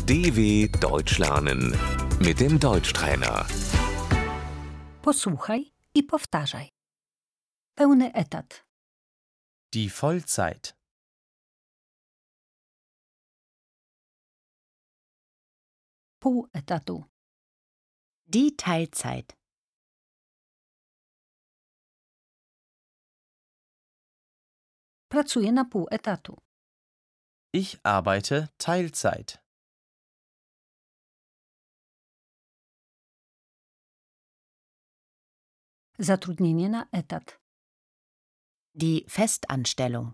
DW Deutsch lernen mit dem Deutschtrainer. Posłuchaj i powtarzaj. Pełny etat. Die Vollzeit. Pół etatu. Die Teilzeit. Pracuję na pół etatu. Ich arbeite Teilzeit. Zatrudnienie na etat. Die Festanstellung.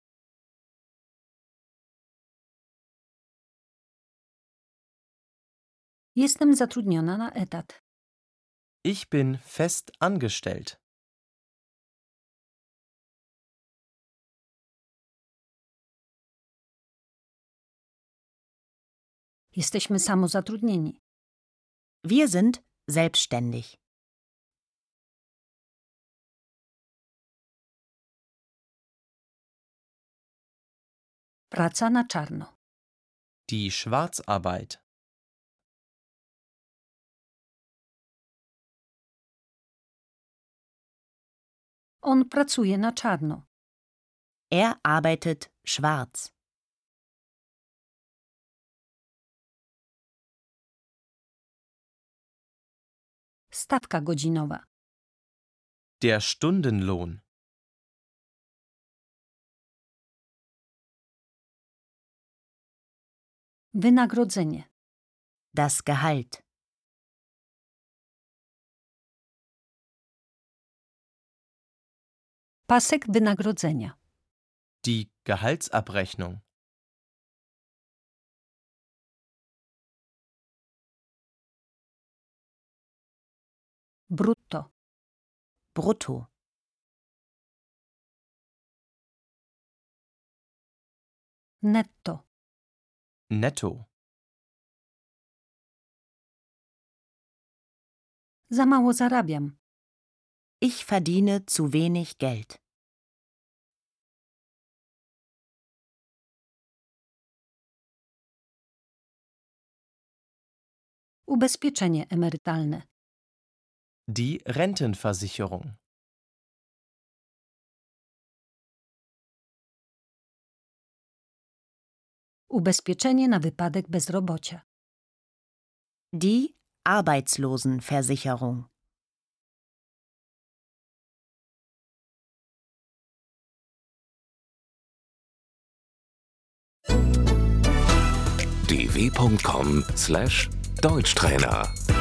Jestem zatrudniona na etat. Ich bin fest angestellt. Jesteśmy samozatrudnieni. Wir sind selbstständig. Praca na czarno. Die Schwarzarbeit. On pracuje na czarno. Er arbeitet schwarz. Stawka godzinowa. Der Stundenlohn. Wynagrodzenie. Das Gehalt. Pasek wynagrodzenia. Die Gehaltsabrechnung. Brutto. Brutto. Netto. Netto. Za mało zarabiam. Ich verdiene zu wenig Geld. Ubezpieczenie emerytalne. Die Rentenversicherung. Ubezpieczenie na wypadek bezrobocia. Die Arbeitslosenversicherung. dw.com/Deutschtrainer